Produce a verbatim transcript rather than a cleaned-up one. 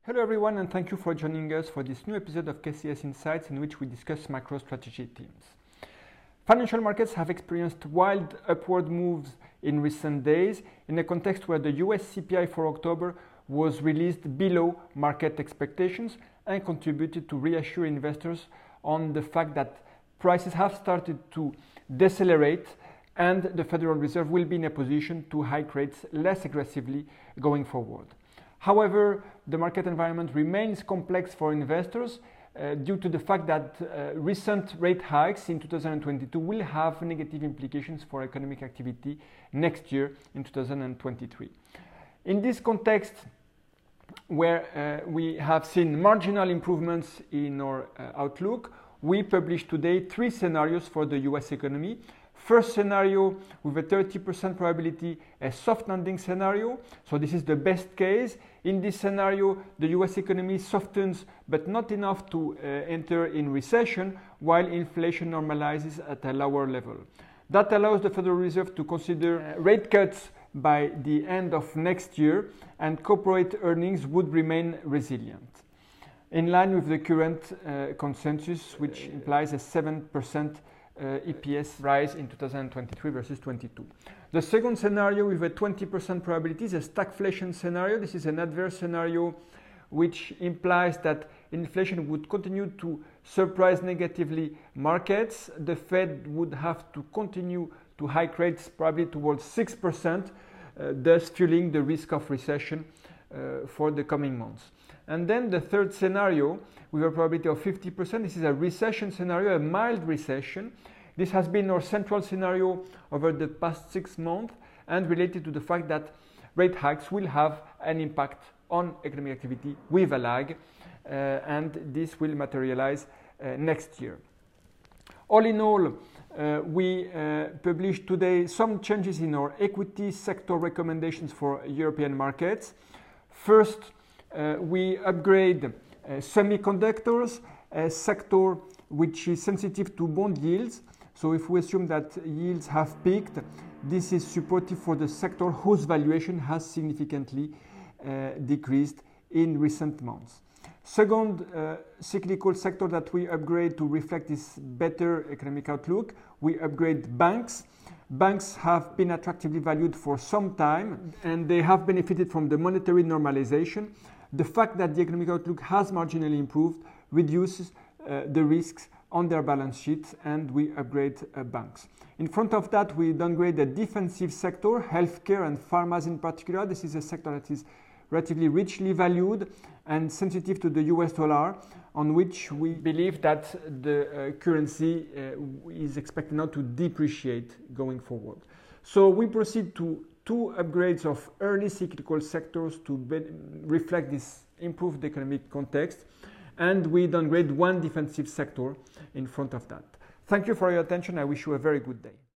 Hello everyone, and thank you for joining us for this new episode of K C S Insights, in which we discuss macro strategy themes. Financial markets have experienced wild upward moves in recent days in a context where the U S C P I for October was released below market expectations and contributed to reassure investors on the fact that prices have started to decelerate and the Federal Reserve will be in a position to hike rates less aggressively going forward. However, the market environment remains complex for investors uh, due to the fact that uh, recent rate hikes in two thousand twenty-two will have negative implications for economic activity next year in two thousand twenty-three. In this context, where uh, we have seen marginal improvements in our uh, outlook, we published today three scenarios for the U S economy. First scenario, with a thirty percent probability, a soft landing scenario. So this is the best case. In this scenario, the U S economy softens, but not enough to uh, enter in recession, while inflation normalizes at a lower level. That allows the Federal Reserve to consider uh, rate cuts by the end of next year, and corporate earnings would remain resilient, in line with the current uh, consensus, which implies a seven percent Uh, E P S rise in two thousand twenty-three versus twenty-two. The second scenario, with a twenty percent probability, is a stagflation scenario. This is an adverse scenario which implies that inflation would continue to surprise negatively markets. The Fed would have to continue to hike rates probably towards six percent, uh, thus fueling the risk of recession uh, for the coming months. And then the third scenario, with a probability of fifty percent, this is a recession scenario, a mild recession. This has been our central scenario over the past six months and related to the fact that rate hikes will have an impact on economic activity with a lag, uh, and this will materialize uh, next year. All in all, uh, we uh, published today some changes in our equity sector recommendations for European markets. First, uh, we upgrade uh, semiconductors, a sector which is sensitive to bond yields. So if we assume that yields have peaked, this is supportive for the sector whose valuation has significantly uh, decreased in recent months. Second uh, cyclical sector that we upgrade to reflect this better economic outlook, we upgrade banks. Banks have been attractively valued for some time, and they have benefited from the monetary normalization. The fact that the economic outlook has marginally improved reduces uh, the risks on their balance sheets, and we upgrade uh, banks. In front of that, we downgrade the defensive sector, healthcare and pharmas in particular. This is a sector that is relatively richly valued and sensitive to the U S dollar, on which we believe that the uh, currency uh, is expected now to depreciate going forward. So we proceed to two upgrades of early cyclical sectors to reflect this improved economic context, and we downgrade one defensive sector in front of that. Thank you for your attention. I wish you a very good day.